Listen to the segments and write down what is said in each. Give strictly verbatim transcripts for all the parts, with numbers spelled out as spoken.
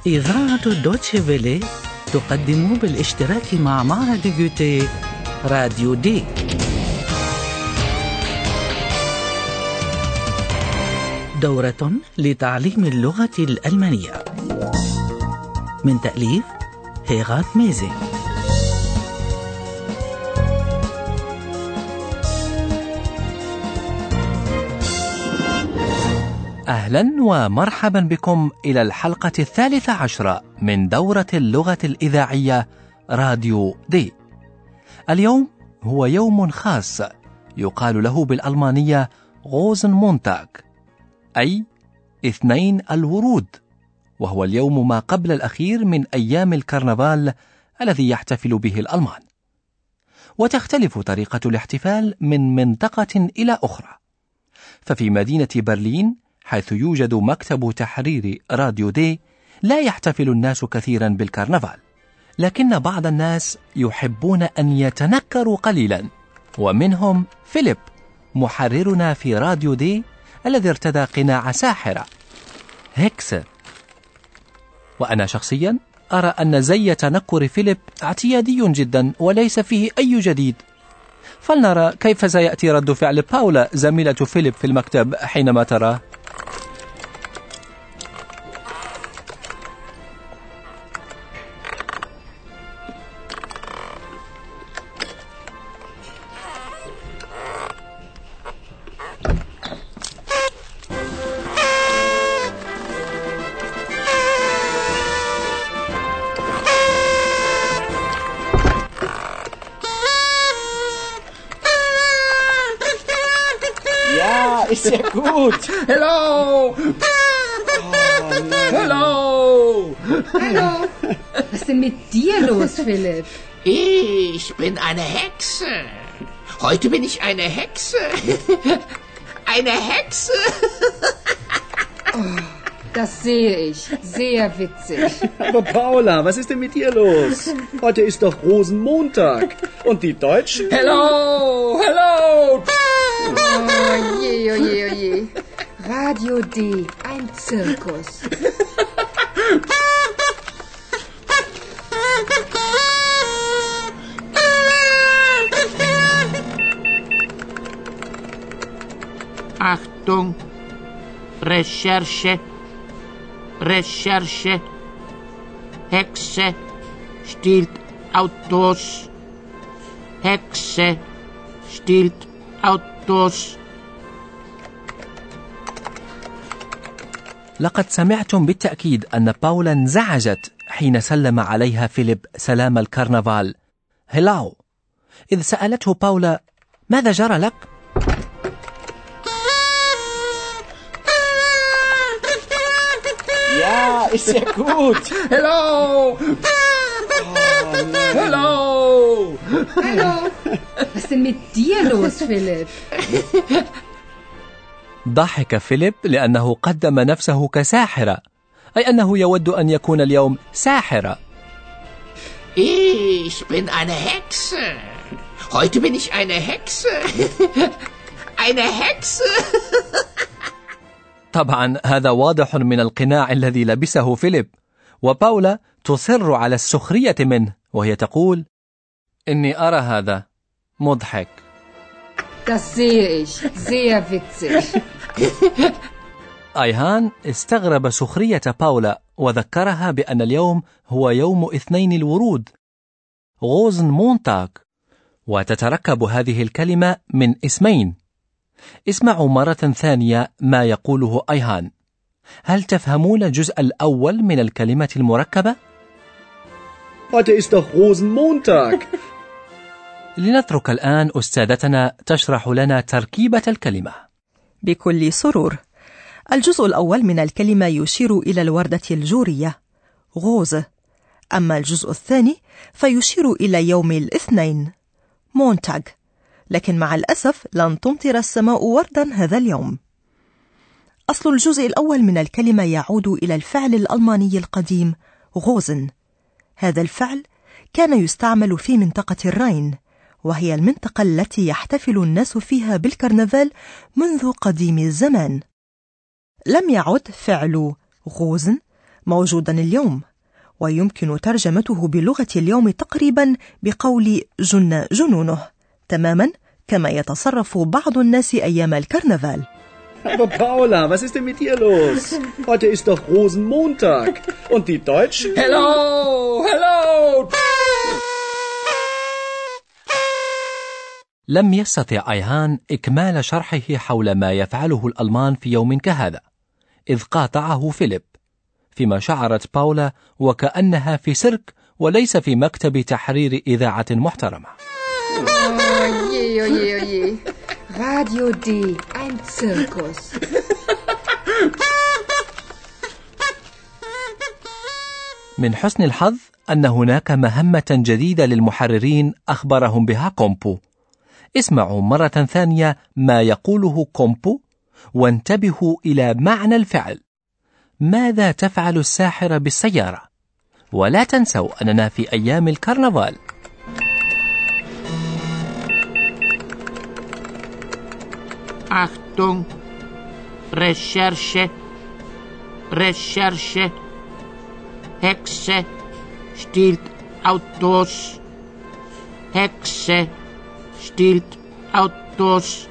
إذاعة دوتشي فيلي تقدم بالاشتراك مع معهد جوتيه راديو دي. دورة لتعليم اللغة الألمانية من تأليف هيغات ميزي. أهلا ومرحبا بكم إلى الحلقة الثالثة عشرة من دورة اللغة الإذاعية راديو دي. اليوم هو يوم خاص يقال له بالألمانية غوزن مونتاغ، أي اثنين الورود، وهو اليوم ما قبل الأخير من أيام الكرنفال الذي يحتفل به الألمان. وتختلف طريقة الاحتفال من منطقة إلى أخرى، ففي مدينة برلين حيث يوجد مكتب تحرير راديو دي لا يحتفل الناس كثيرا بالكرنفال، لكن بعض الناس يحبون أن يتنكروا قليلا، ومنهم فيليب محررنا في راديو دي الذي ارتدى قناع ساحرة هيكس. وأنا شخصيا أرى أن زي تنكر فيليب اعتيادي جدا وليس فيه أي جديد. فلنرى كيف سيأتي رد فعل باولا زميلة فيليب في المكتب حينما تراه. Ist sehr gut. Hello. Oh, Hello. Hallo. Was ist denn mit dir los, Philipp? Ich bin eine Hexe. Heute bin ich eine Hexe. Eine Hexe. Oh, das sehe ich. Sehr witzig. Aber Paula, was ist denn mit dir los? Heute ist doch Rosenmontag. Und die Deutschen? Hello. Hello. Oh je, oh je, oh je. Radio D, ein Zirkus. Achtung, Recherche, Recherche, Hexe stiehlt Autos, Hexe stiehlt Autos. لقد سمعتم بالتأكيد أن باولا انزعجت حين سلم عليها فيليب سلام الكرنفال هلاو، إذ سألته باولا ماذا جرى لك؟ Ja, ist sehr gut. Hello. Oh, Hello. Hallo. Was ist denn mit dir los, Philipp? ضحك فيليب لأنه قدم نفسه كساحرة، أي أنه يود أن يكون اليوم ساحرة. Ich bin eine Hexe. Heute bin ich eine Hexe. Eine Hexe. طبعا هذا واضح من القناع الذي لبسه فيليب، وباولا تصر على السخرية منه وهي تقول إني أرى هذا مضحك. Das sehe ich. Sehr witzig. أيهان استغرب سخرية باولا وذكرها بأن اليوم هو يوم اثنين الورود غوزن مونتاغ، وتتركب هذه الكلمة من اسمين. اسمعوا مرة ثانية ما يقوله أيهان. هل تفهمون الجزء الأول من الكلمة المركبة؟ Heute ist doch Rosenmontag. لنترك الآن أستاذتنا تشرح لنا تركيبة الكلمة. بكل سرور. الجزء الأول من الكلمة يشير إلى الوردة الجورية غوز، أما الجزء الثاني فيشير إلى يوم الاثنين مونتاغ، لكن مع الأسف لن تمطر السماء وردا هذا اليوم. أصل الجزء الأول من الكلمة يعود إلى الفعل الألماني القديم غوزن. هذا الفعل كان يستعمل في منطقة الراين، وهي المنطقة التي يحتفل الناس فيها بالكرنفال منذ قديم الزمان. لم يعد فعل غوزن موجودا اليوم، ويمكن ترجمته بلغة اليوم تقريبا بقول جن جنونه، تماما كما يتصرف بعض الناس أيام الكرنفال. Aber Paula, was ist denn mit dir los? Heute ist doch Rosenmontag. Und die Deutschen? Hello, hello. لم يستطع أيهان إكمال شرحه حول ما يفعله الألمان في يوم كهذا، إذ قاطعه فيليب، فيما شعرت باولا وكأنها في سيرك وليس في مكتب تحرير إذاعة محترمة. Oje, oje, oje. Radio D, ein Zirkus. من حسن الحظ أن هناك مهمة جديدة للمحررين أخبرهم بها كومبو. اسمعوا مرة ثانية ما يقوله كومبو وانتبهوا إلى معنى الفعل. ماذا تفعل الساحرة بالسيارة؟ ولا تنسوا أننا في أيام الكرنفال. Achtung, Recherche, Recherche, Hexe stiehlt Autos, Hexe stiehlt Autos.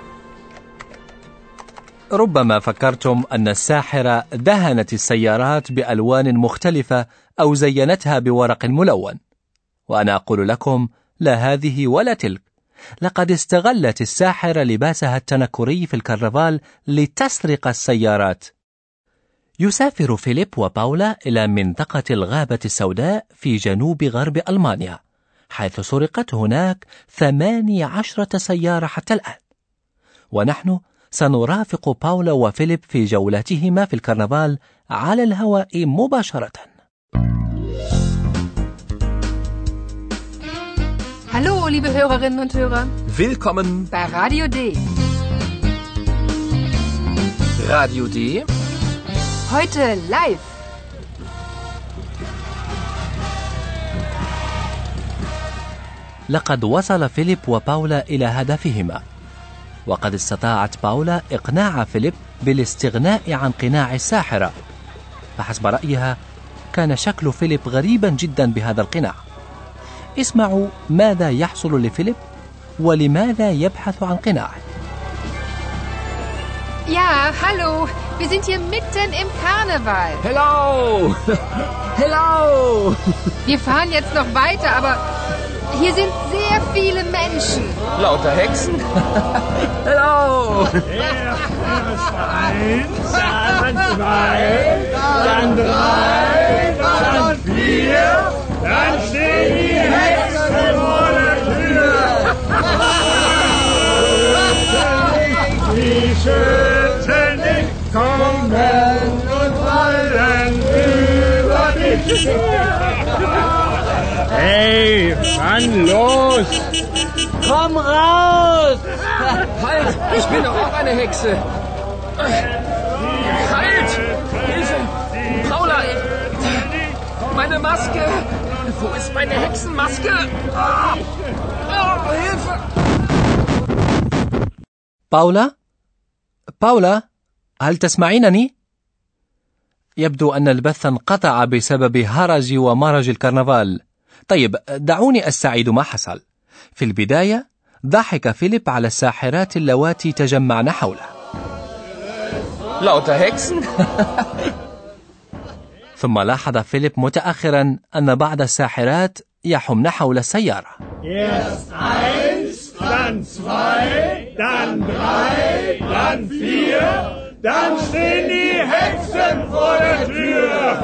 ربما فكرتم أن الساحرة دهنت السيارات بألوان مختلفة أو زينتها بورق ملون، وأنا أقول لكم لا هذه ولا تلك. لقد استغلت الساحرة لباسها التنكري في الكرنفال لتسرق السيارات. يسافر فيليب وباولا إلى منطقة الغابة السوداء في جنوب غرب ألمانيا، حيث سرقت هناك ثماني عشرة سيارة حتى الآن. ونحن سنرافق باولا وفيليب في جولاتهما في الكرنفال على الهواء مباشرة. Hallo, liebe Hörerinnen und Hörer. Willkommen bei Radio D. Radio D. Heute live. لقد وصل فيليب وباولا إلى هدفهما، وقد استطاعت باولا إقناع فيليب بالاستغناء عن قناع الساحرة. فحسب رأيها كان شكل فيليب غريبا جدا بهذا القناع. اسمعوا ماذا يحصل لفيليب ولماذا يبحث عن قناعه. Ja, hallo. Wir sind hier mitten im Karneval. Hello. Hello. Wir fahren jetzt noch weiter, aber hier sind sehr viele Menschen. Lauter Hexen. Hello. Eins, dann zwei, dann drei, dann vier, dann stehen die Hexen vor der Tür. Die schütten dich, kommen und fallen über dich. Hey, Mann, los! Komm raus! Halt! Ich bin doch auch eine Hexe! Halt! Hilfe! Paula! Meine Maske! Wo ist meine Hexenmaske? Oh, Hilfe! باولا؟ باولا؟ هل تسمعينني؟ يبدو أن البث انقطع بسبب هرج ومرج الكرنفال. طيب دعوني أستعيد ما حصل. في البداية ضحك فيليب على الساحرات اللواتي تجمعن حوله. Lauter Hexen. ثم لاحظ فيليب متأخرا أن بعض الساحرات يحمن حول السيارة. Erst eins, dann zwei, dann drei, dann vier, dann stehen die Hexen vor der Tür.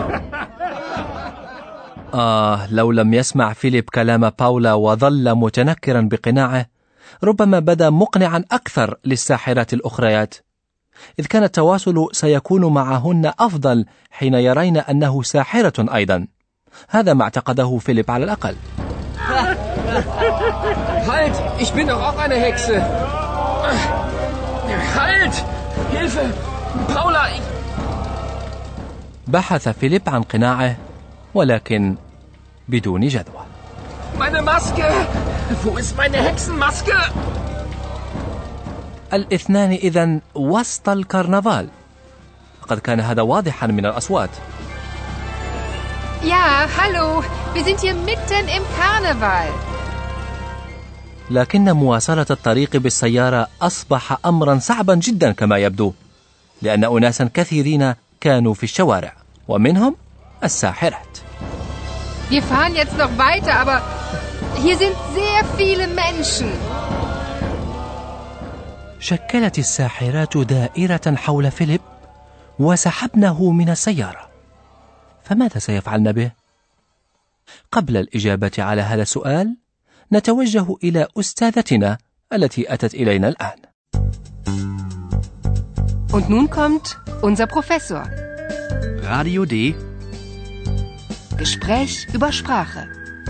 آه لو لم يسمع فيليب كلام باولا وظل متنكرا بقناعه ربما بدا مقنعا أكثر للساحرات الأخريات، إذ كان التواصل سيكون معهن أفضل حين يرين أنه ساحرة أيضا. هذا ما اعتقده فيليب على الأقل. Halt! Ich bin doch auch eine Hexe! Halt! Hilfe! Paula! Ich... بحث فيليب عن قناعه ولكن بدون جدوى. Meine Maske! Wo ist meine Hexenmaske? الاثنان إذن وسط الكرنفال. قد كان هذا واضحا من الأصوات. Ja, hallo. Wir sind hier mitten im Karneval. لكن مواصلة الطريق بالسيارة أصبح أمرا صعبا جدا كما يبدو، لأن أناسا كثيرين كانوا في الشوارع ومنهم الساحرات. Wir fahren jetzt noch weiter, aber hier sind sehr viele Menschen. شكلت الساحرات دائرة حول فيليب وسحبنه من السيارة، فماذا سيفعلن به؟ قبل الإجابة على هذا السؤال نتوجه إلى أستاذتنا التي أتت إلينا الآن. Und nun kommt unser Professor. Radio D. Gespräch über Sprache.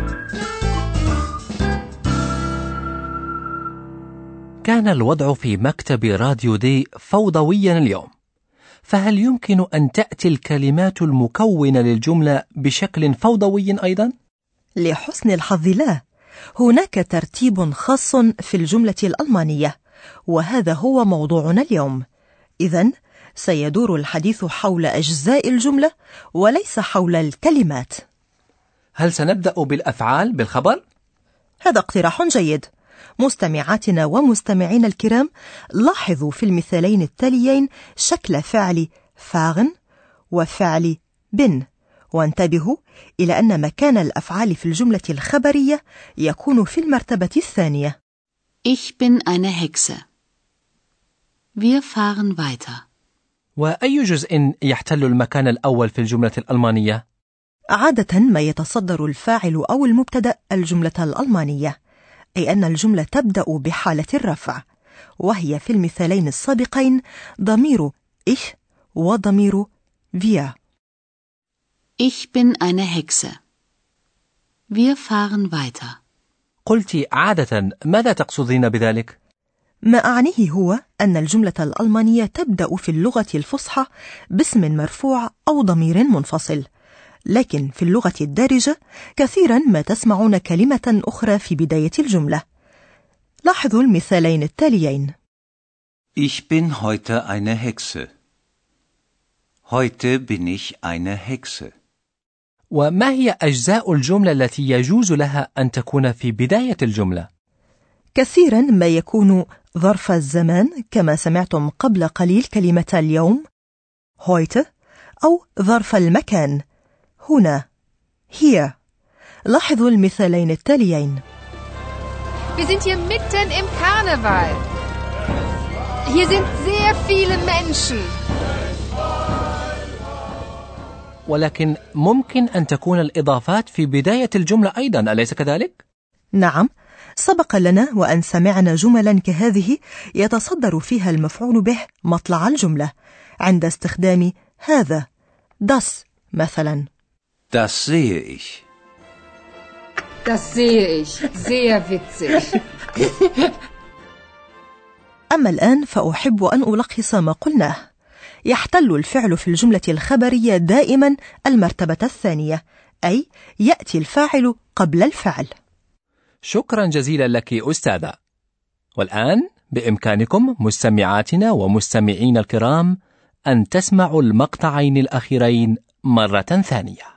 كان الوضع في مكتب راديو دي فوضويا اليوم، فهل يمكن أن تأتي الكلمات المكونة للجملة بشكل فوضوي أيضا؟ لحسن الحظ لا، هناك ترتيب خاص في الجملة الألمانية، وهذا هو موضوعنا اليوم. إذن سيدور الحديث حول أجزاء الجملة وليس حول الكلمات. هل سنبدأ بالأفعال بالخبر؟ هذا اقتراح جيد. مستمعاتنا ومستمعين الكرام، لاحظوا في المثالين التاليين شكل فعل fahren وفعل bin، وانتبهوا إلى أن مكان الأفعال في الجملة الخبرية يكون في المرتبة الثانية. Ich bin eine Hexe. Wir fahren weiter. وأي جزء يحتل المكان الأول في الجملة الألمانية؟ عادة ما يتصدر الفاعل أو المبتدأ الجملة الألمانية، أي أن الجملة تبدأ بحالة الرفع، وهي في المثالين السابقين ضمير ich وضمير wir. Ich bin eine Hexe. Wir fahren weiter. قلت عادة، ماذا تقصدين بذلك؟ ما أعنيه هو أن الجملة الألمانية تبدأ في اللغة الفصحى باسم مرفوع أو ضمير منفصل، لكن في اللغة الدارجة كثيرا ما تسمعون كلمة أخرى في بداية الجملة. لاحظوا المثالين التاليين. Ich bin heute eine Hexe. Heute bin ich eine Hexe. وما هي أجزاء الجملة التي يجوز لها أن تكون في بداية الجملة؟ كثيرا ما يكون ظرف الزمان كما سمعتم قبل قليل كلمة اليوم heute، أو ظرف المكان هنا hier. لاحظوا المثالين التاليين. Wir sind hier mitten im Karneval. Hier sind sehr viele Menschen. ولكن ممكن أن تكون الإضافات في بداية الجملة أيضا، أليس كذلك؟ نعم، سبق لنا وأن سمعنا جملا كهذه يتصدر فيها المفعول به مطلع الجملة عند استخدام هذا das مثلا. Das sehe ich. Das sehe ich. Sehr witzig. أما الآن فأحب أن ألخص ما قلناه. يحتل الفعل في الجملة الخبرية دائما المرتبة الثانية، أي يأتي الفاعل قبل الفعل. شكرا جزيلا لك أستاذة. والآن بإمكانكم مستمعاتنا ومستمعين الكرام أن تسمعوا المقطعين الأخيرين مرة ثانية.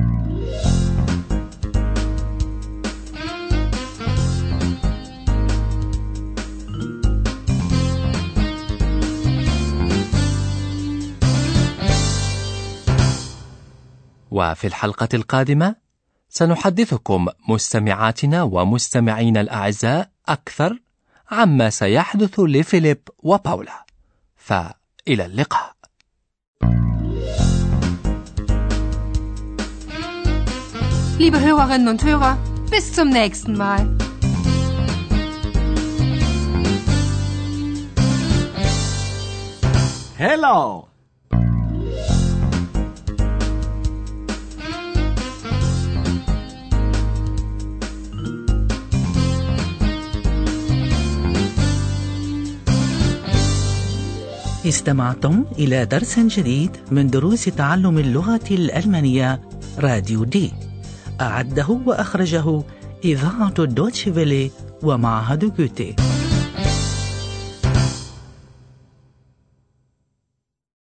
وفي الحلقة القادمة سنحدثكم مستمعاتنا ومستمعين الأعزاء أكثر عما سيحدث لفيليب وباولا. فإلى اللقاء. Liebe Hörerinnen und Hörer, bis zum nächsten Mal. Hello! استمعتم إلى درس جديد من دروس تعلم اللغة الألمانية راديو دي. أعده وأخرجه إذاعة دوتشي فيلي ومعهد جوتي.